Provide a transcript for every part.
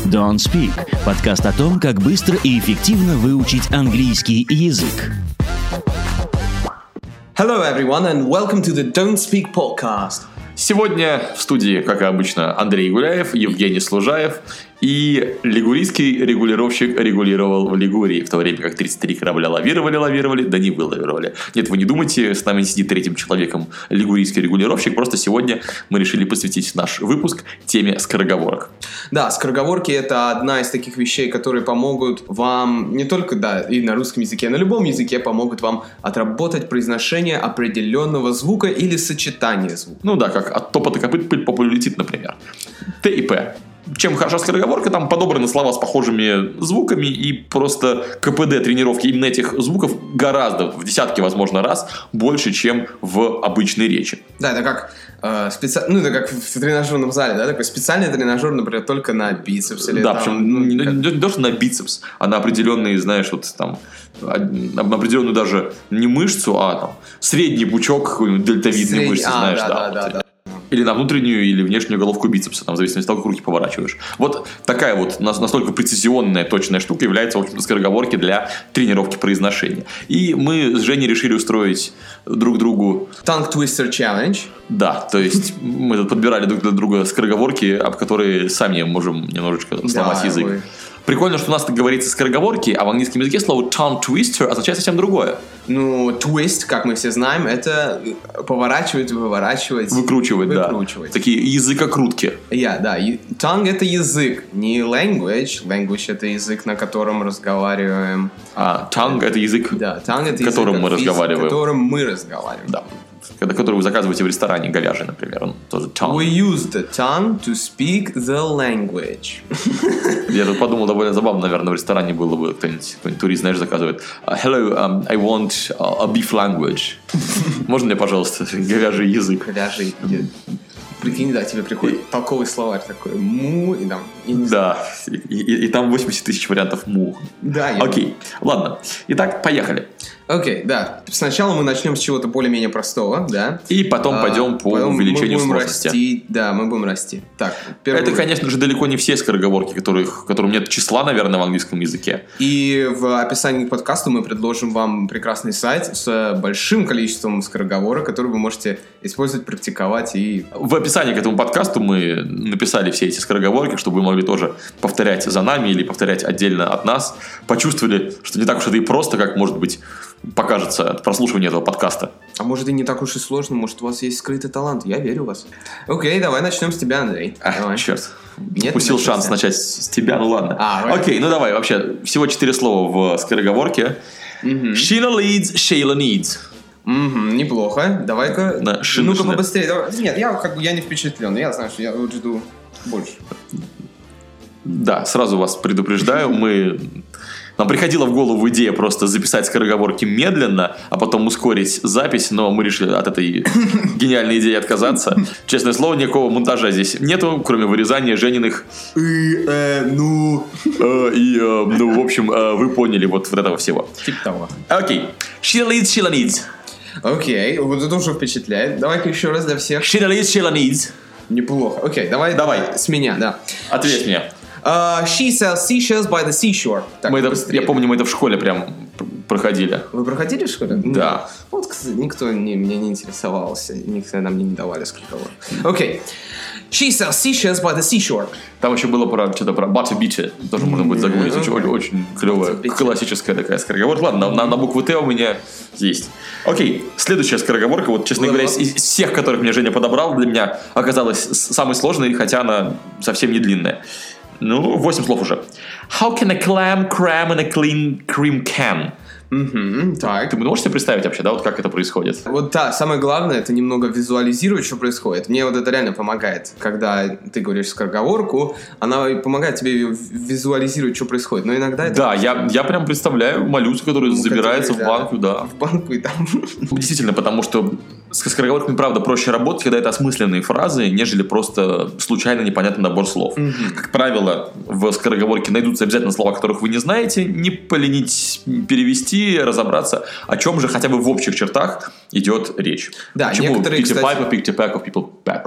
Don't Speak – подкаст о том, как быстро и эффективно выучить английский язык. Hello everyone and welcome to the Don't Speak podcast. Сегодня в студии, как и обычно, Андрей Гуляев, Евгений Служаев и лигурийский регулировщик регулировал в Лигурии, в то время как 33 корабля лавировали, да не вылавировали. Нет, вы не думайте, с нами сидит третьим человеком лигурийский регулировщик, просто сегодня мы решили посвятить наш выпуск теме скороговорок. Да, скороговорки — это одна из таких вещей, которые помогут вам не только, и на русском языке, на любом языке помогут вам отработать произношение определенного звука или сочетание звуков. Ну да, как от топота копыт пыль по полю летит, например. Т и П. Чем хороша скороговорка, там подобраны слова с похожими звуками, и просто КПД тренировки именно этих звуков гораздо, в десятки, возможно, раз больше, чем в обычной речи. Да, это как это как в тренажерном зале, да, такой специальный тренажер, например, только на бицепс или да, причем не то, что на бицепс, а на определенные, знаешь, вот там на определенную даже не мышцу, а там средний пучок какой-нибудь дельтовидной мышцы, знаешь, да. Или на внутреннюю, или внешнюю головку бицепса, там, в зависимости от того, как руки поворачиваешь. Вот такая вот настолько прецизионная, точная штука является, в общем-то, скороговорки для тренировки произношения. И мы с Женей решили устроить друг другу Tongue Twister Challenge. Да, то есть мы тут подбирали друг для друга скороговорки, об которые сами можем немножечко сломать язык. Прикольно, что у нас так говорится скороговорки, а в английском языке слово tongue twister означает совсем другое. Ну, twist, как мы все знаем, это поворачивать, выворачивать. Выкручивать, да. Такие языкокрутки. Tongue — это язык, не language. Language — это язык, на котором разговариваем. А tongue — это язык, да, tongue — это которым мы разговариваем. Которым мы разговариваем. Да. Который вы заказываете в ресторане говяжий, например. Он тоже tongue. We use the tongue to speak the language. Я тут подумал, довольно забавно, наверное, в ресторане было бы кто-нибудь турист, знаешь, заказывает. Hello, I want a beef language. Можно мне, пожалуйста, говяжий язык? Говяжий язык. Прикинь, да, тебе приходит толковый словарь такой, му, и там... Да, и там 80 тысяч вариантов му. Да. Окей, ладно. Итак, поехали. Окей, да. Сначала мы начнем с чего-то более-менее простого, да. И потом пойдем по увеличению сложности. Мы будем расти. Так, это, конечно же, далеко не все скороговорки, которым нет числа, наверное, в английском языке. И в описании к подкасту мы предложим вам прекрасный сайт с большим количеством скороговорок, которые вы можете использовать, практиковать. И в описании к этому подкасту мы написали все эти скороговорки, чтобы вы могли тоже повторять за нами или повторять отдельно от нас. Почувствовали, что не так уж это и просто, как, может быть, покажется от прослушивания этого подкаста. А может и не так уж и сложно, может у вас есть скрытый талант, я верю в вас. Окей, давай начнем с тебя, Андрей. Черт, упустил шанс начать с тебя, ну ладно. Окей, ну давай, вообще, всего 4 слова в скороговорке. Sheila leads, Sheila needs. Неплохо, давай-ка, ну-ка побыстрее. Давай. Нет, я не впечатлен, я знаю, что я вот жду больше. Да, сразу вас предупреждаю, нам приходила в голову идея просто записать скороговорки медленно, а потом ускорить запись, но мы решили от этой гениальной идеи отказаться. Честное слово, никакого монтажа здесь нету, кроме вырезания Жениных в общем, вы поняли вот этого всего. Типа того. Окей. Sheila leads, Sheila needs. Окей, вот это уже впечатляет. Давай-ка еще раз для всех. Sheila leads, Sheila needs. Неплохо. Окей, давай. С меня, да. Ответь мне. She sells seashells by the seashore. Так, я помню, мы это в школе прям проходили. Вы проходили в школе? Да. Вот, кстати, никто меня не интересовался. Никогда нам не давали скороговорок. Окей. She sells seashells by the seashore. Там еще было что-то про butter beater. Тоже можно будет загуглить. Очень клевая, классическая такая скороговорка. Ладно, на букву Т у меня есть. Окей, следующая скороговорка. Вот, честно говоря, из всех, которых мне Женя подобрал, для меня оказалась самой сложной, хотя она совсем не длинная. 8 слов уже. How can a clam cram in a clean cream can? Так. Ты можешь себе представить вообще, да, вот как это происходит? Вот да, самое главное, это немного визуализировать, что происходит. Мне вот это реально помогает, когда ты говоришь скороговорку, она помогает тебе визуализировать, что происходит. Но иногда это... Да, я прям представляю моллюска, который забирается в банку, да. В банку и там... Действительно, потому что с скороговорками, правда, проще работать, когда это осмысленные фразы, нежели просто случайно непонятный набор слов. Как правило, в скороговорке найдутся обязательно слова, которых вы не знаете, не поленитесь перевести, разобраться, о чем же хотя бы в общих чертах идет речь. Да, почему некоторые, picked a pipe of people peppers?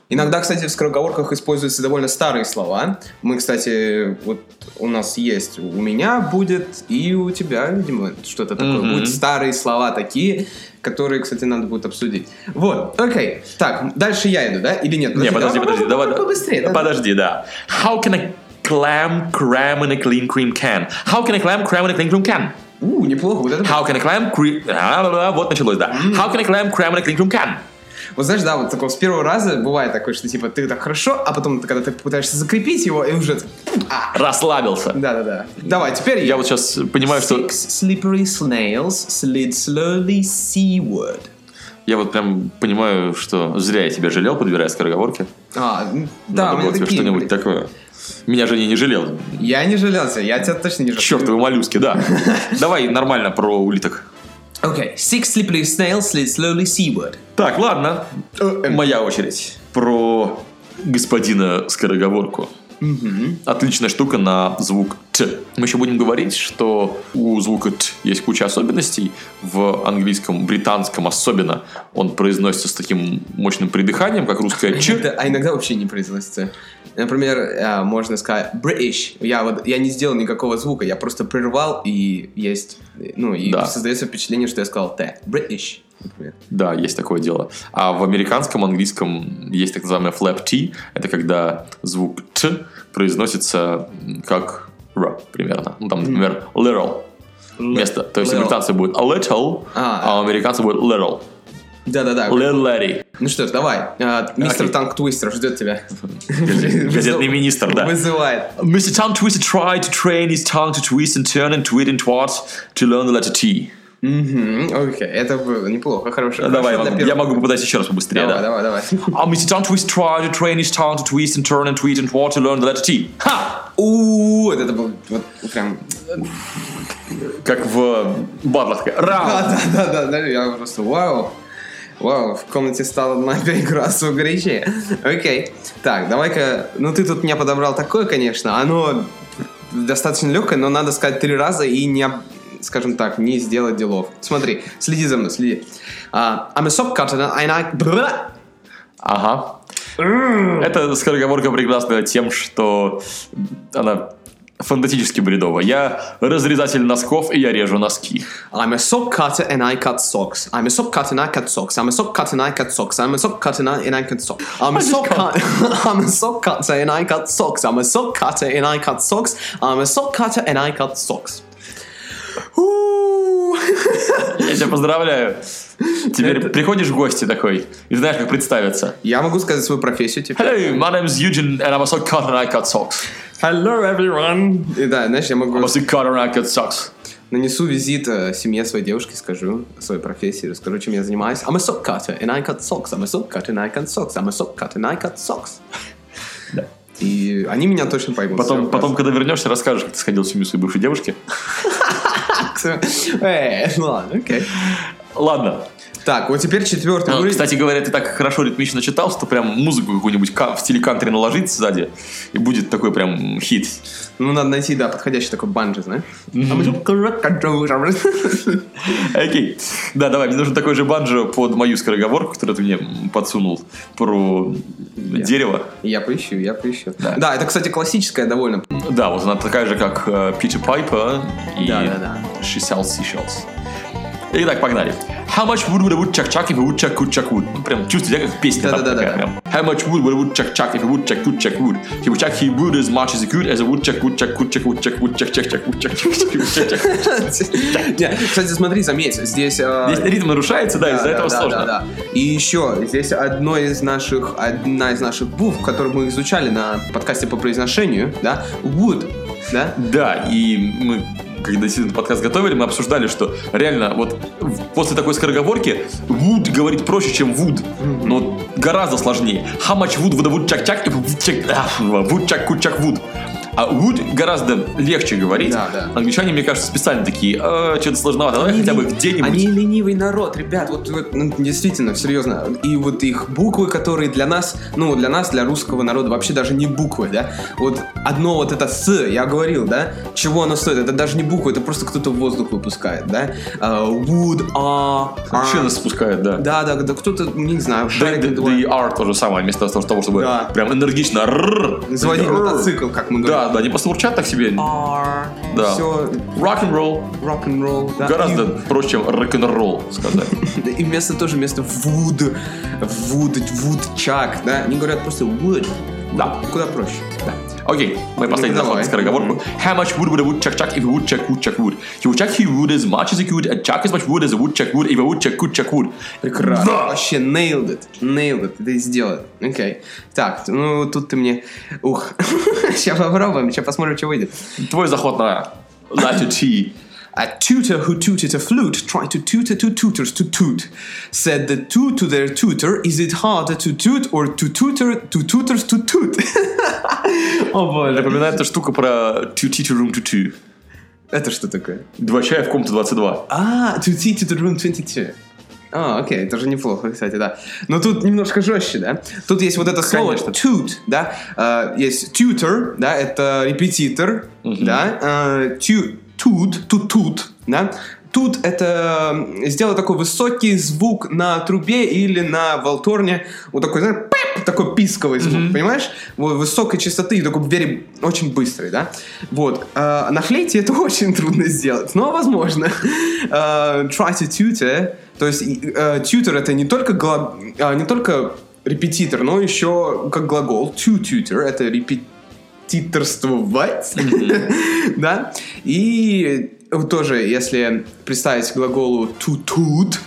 Иногда, кстати, в скороговорках используются довольно старые слова. Мы, кстати, вот у нас есть, у меня будет, и у тебя, видимо, что-то такое. Будут старые слова такие, которые, кстати, надо будет обсудить. Вот, окей. Так, дальше я иду, да? Или нет? Подожди. Давай побыстрее. Подожди, да. How can a clam cram in a clean cream can? How can a clam cram in a clean cream can? Неплохо. Вот это... How can a clam вот началось, да. How can a clam cram in a clean cream can? Вот знаешь, да, вот такого с первого раза бывает такое, что типа ты так хорошо, а потом, когда ты пытаешься закрепить его, и уже... Расслабился. Да. Давай, теперь я вот сейчас понимаю, что... Six slippery snails slid slowly seaward. Я вот прям понимаю, что зря я тебя жалел, подбирая скороговорки. Да, надо у меня было такие что-нибудь такое. Меня же не жалел. Я не жалелся, я тебя точно не жалел. Чёртовы моллюски, да. Давай нормально про улиток. Okay. Six slippery snails slid slowly seaward. Так, ладно. Моя очередь. Про господина скороговорку. Отличная штука на звук Т. Мы еще будем говорить, что у звука Т есть куча особенностей. В английском, британском особенно, он произносится с таким мощным придыханием, как русское Ч. А иногда вообще не произносится. Например, можно сказать British. Я не сделал никакого звука, я просто прервал, и есть... создается впечатление, что я сказал Т. British. Например. Да, есть такое дело. А в американском, английском есть так называемый flap T. Это когда звук Т произносится как Р примерно. Там, например, little. Место. То есть у британцев будет a little, а у американцев будет little. Да. Little lady. Ну что ж, давай. Мистер Танк Твистер ждет тебя. Газетный министр, да. Вызывает. Mr. Tongue Twister tried to train his tongue to twist and turn and twist and twat to learn the letter T. Окей, это было неплохо, хорошо. Давай, я могу попытаться еще раз побыстрее. Давай. Mr. Tongue Twister tried to train his tongue to twist and turn and twist and twat to learn the letter T. Ха! Вот это был прям... Как в батлах. Да, я просто вау, в комнате стало на 5 градусов горячее. Окей. Так, давай-ка... ты тут меня подобрал такое, конечно. Оно достаточно легкое, но надо сказать 3 раза и не... скажем так, не сделать делов. Смотри, следи за мной, следи. I'm a sock cutter and I... Ага. Эта скороговорка прекрасна тем, что она фантастически бредова. Я разрезатель носков, и я режу носки. I'm a sock cutter and I cut socks. I'm a sock cutter and I cut socks. I'm a sock cutter and I cut socks. I'm a sock cutter and I cut socks. I'm a sock cutter and I cut socks. I'm a sock cutter and I cut socks. I'm a sock cutter and I cut socks. Я тебя поздравляю. Теперь приходишь в гости такой и знаешь, как представиться. Я могу сказать свою профессию теперь. Hello, my name is Eugene and I'm a sock cutter and I cut socks. Hello, everyone. И да, знаешь, я могу... I'm a sock cutter and I cut socks. Нанесу визит семье своей девушки, скажу о своей профессии, расскажу, чем я занимаюсь. I'm a sock cutter and I cut socks. I'm a sock cutter and I cut socks. I'm a sock cutter and I cut socks. Да. И они меня точно поймут. Потом, когда вернешься, расскажешь, как ты сходил в семью своей бывшей девушки. Ладно, окей. Ладно. Так, вот теперь 4-й уровень. Кстати говоря, ты так хорошо ритмично читал, что прям музыку какую-нибудь в стиле кантри наложить сзади, и будет такой прям хит. Надо найти, да, подходящий такой банджо, знаешь? Окей. Да, давай, мне нужен такой же банджо под мою скороговорку, которую ты мне подсунул про дерево. Я поищу. Да, это, кстати, классическая довольно. Да, вот она такая же, как Питер Пайпер и She Sells Seashells. Итак, погнали. How much wood would a woodchuck chuck if a woodchuck could chuck wood? Прям чувствуете, как песня такая прям. How much wood would a woodchuck chuck if a woodchuck could chuck wood? He would chuck he would as much as he could as a woodchuck would chuck woodchuck woodchuck woodchuck chuck chuck woodchuck chuck. Кстати, смотри, заметь, здесь ритм нарушается, да, из-за этого сложно. Да. И еще здесь одна из наших букв, которую мы изучали на подкасте по произношению, да, wood, да? Да, и мы когда действительно подкаст готовили, мы обсуждали, что реально вот после такой скороговорки would говорить проще, чем would, но гораздо сложнее. How much wood would a woodchuck chuck if a woodchuck could chuck wood? А would гораздо легче говорить. Да. Англичане, мне кажется, специально такие, что-то сложновато, давай хотя бы где-нибудь. Они ленивый народ, ребят, вот действительно, серьезно. И вот их буквы, которые для нас, для русского народа вообще даже не буквы, да. Вот одно вот это «с», я говорил, да, чего оно стоит, это даже не буквы, это просто кто-то в воздух выпускает, да. Would, Вообще нас спускает, да. Да, кто-то, не знаю, шарит. Да и R то же самое, вместо того, чтобы прям энергично заводить мотоцикл, как мы говорим. Да, они просто урчат так себе. Да. Все. Rock'n'roll. Да. Гораздо проще, чем рок-н-ролл сказать. И вместо wood, woodchuck, да, они говорят просто wood. Да. Куда проще. Да. Окей, мы последний заход на скороговорку. How much wood would a woodchuck chuck if a woodchuck could chuck wood? He would chuck his wood as much as he could and chuck as much wood as a woodchuck would if a woodchuck could chuck wood. Прекрасно. Да. Вообще nailed it. Ты сделал. Окей. Так, тут ты мне... Сейчас попробуем, сейчас посмотрим, что выйдет. Твой заход на letter T. A tutor who tutored a flute tried to tutor two tutors to toot. Said the two to their tutor, is it harder to toot or to tutor two tutors to toot? О боже. Напоминает эта штука про to teach a room to two. Это что такое? 2 чая в комнату 22. To teach to the room 22. Окей, это же неплохо, кстати, да. Но тут немножко жестче, да. Тут есть вот это слово toot, да. Есть tutor, да, это репетитор, да. Toot, да. Тут это сделать такой высокий звук на трубе или на валторне, вот такой, знаешь, такой писковый звук, понимаешь? Вот, высокой частоты и такой очень быстрый, да? Вот. На флейте это очень трудно сделать, но возможно. Try to tutor, то есть tutor это не только репетитор, но еще как глагол. To tutor это репетиторствовать, да? И тоже, если представить глаголу to toot,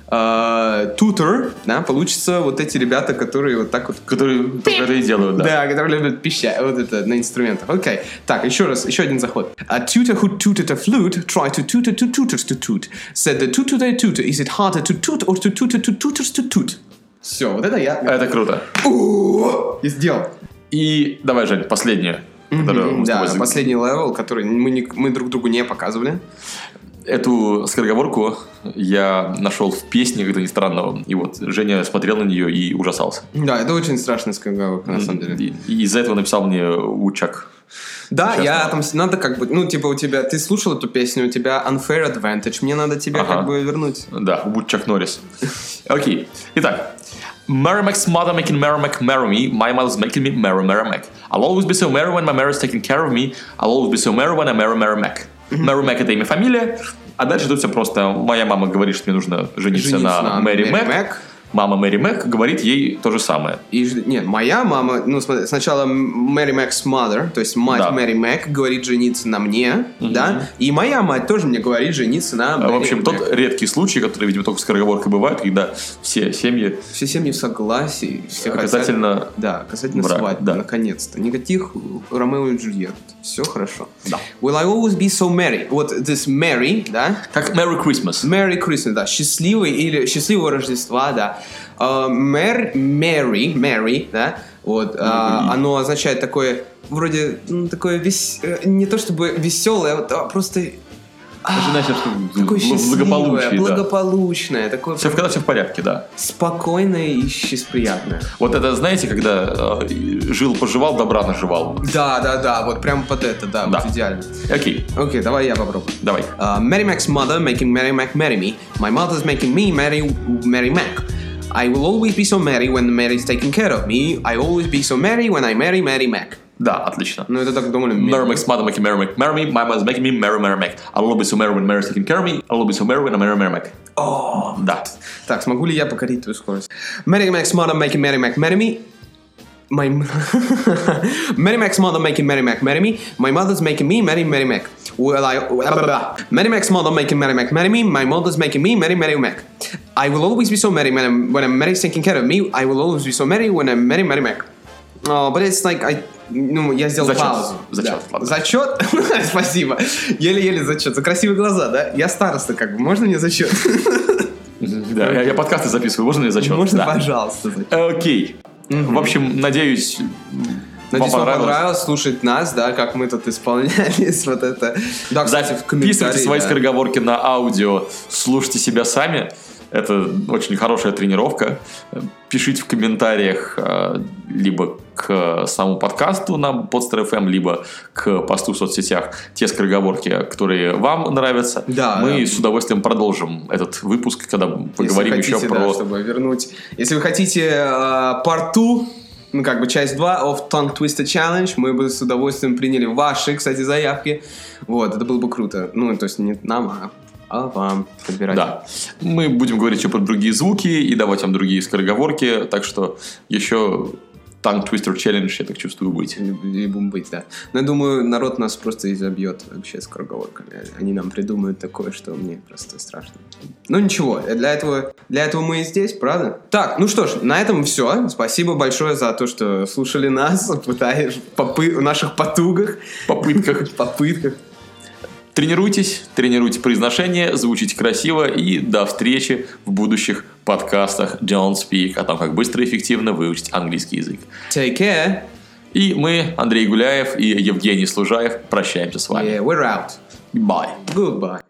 tutor, да, получится вот эти ребята, которые вот так вот... Которые и делают, да. Да, которые любят пищать, вот это, на инструментах. Окей. Так, еще один заход. A tutor who tutored a flute tried to tutor two tutors to toot. Said the tutor their tutor, is it harder to toot or to tutor two tutors to toot? Все, вот это я... Это круто. Я сделал. И давай, Жень, последнее. Да, последний левел, который мы друг другу не показывали. Эту скороговорку я нашел в песне, как-то ни странно. И вот Женя смотрел на нее и ужасался. Да, это очень страшная скороговорка, на самом деле. И из-за этого написал мне Woodchuck. Да, я там надо как бы, у тебя, ты слушал эту песню, у тебя unfair advantage, мне надо тебя как бы вернуть. Да, Woodchuck Norris. Окей. Итак. Merrimac's mother making Merrimac marry me. My mother's making me marry Merrimac. I'll always be so merry when my Mary's taking care of me. I'll always be so merry when I marry Merrimac. Merrimac — это имя, фамилия. А дальше тут все просто. Моя мама говорит, что мне нужно жениться на Мэри Мэг. Мама Мэри Мэг говорит ей то же самое. Нет, моя мама, сначала Мэри Мэк's mother, то есть мать Мэри Мэг, говорит жениться на мне, да, и моя мать тоже мне говорит жениться на Мэри Мэг. В общем, тот редкий случай, который, видимо, только в скороговоркой бывает, когда все семьи в согласии, все касательно свадьбы, да. Наконец-то. Никаких Ромео и Джульетт. Все хорошо. Да. Will I always be so merry? Вот this merry, да? Как Merry Christmas. Merry Christmas, да. Счастливый или счастливого Рождества, да. Merry, да. Вот. Оно означает такое, вроде, такое не то чтобы веселое, а просто... Такое счастливое, благополучное. Такое когда все в порядке, да. Спокойное и приятное. Вот это, знаете, когда жил-поживал, добра наживал. Да, вот прям под это, да. Вот идеально. Окей, давай я попробую. Давай. Merrimac's mother making Merrimac marry me. My mother's making me marry Merrimac. I will always be so merry when Mary's taking care of me. I always be so merry when I marry Merrimac. Да, отлично. Ну, это так довольно... Merrimac's mother making Merrimac marry me. My mother's making me marry Merrimac. I'll always be so merry when Mary's taking care of me. I'll always be so merry when I marry Merrimac. Да. Так, смогу ли я покорить твою скорость? Merrimac's mother making Merrimac marry me. Merrimac's mother making Merrimac marry me. My mother's making me marry Merrimac. Merrimac's mother making Merrimac marry me. My mother's making me marry Merrimac. I will always be so merry when Mary's taking care of me. I will always be so merry when I marry Merrimac. But it's like я сделал паузу. Зачет? Спасибо. Еле-еле зачет. За красивые глаза, да? Я староста, как бы. Можно мне зачет? Да, я подкасты записываю. Можно мне зачет? Можно, пожалуйста. Окей. В общем, надеюсь, Надеюсь, вам понравилось слушать нас, да, как мы тут исполнялись, вот это. Да, кстати, в комментариях. Записывайте свои скороговорки на аудио, слушайте себя сами. Это очень хорошая тренировка. Пишите в комментариях либо к самому подкасту на Podster FM, либо к посту в соцсетях те скороговорки, которые вам нравятся. Да, мы с удовольствием продолжим этот выпуск, когда поговорим еще про... Да, чтобы вернуть. Если вы хотите part 2, как бы часть 2 of Tongue Twister Challenge, мы бы с удовольствием приняли ваши, кстати, заявки. Вот, это было бы круто. Ну, то есть не нам, а вам подбирать. Да. Мы будем говорить еще про другие звуки и давать вам другие скороговорки, так что еще Tongue Twister Challenge, я так чувствую, быть. И будем быть, да. Но я думаю, народ нас просто изобьет вообще скороговорками. Они нам придумают такое, что мне просто страшно. Ну ничего, для этого мы и здесь, правда? Так, ну что ж, на этом все. Спасибо большое за то, что слушали нас в наших попытках. Тренируйтесь, тренируйте произношение, звучите красиво и до встречи в будущих подкастах Don't Speak о том, как быстро и эффективно выучить английский язык. Take care. И мы, Андрей Гуляев и Евгений Служаев, прощаемся с вами. Yeah, we're out. Bye. Goodbye.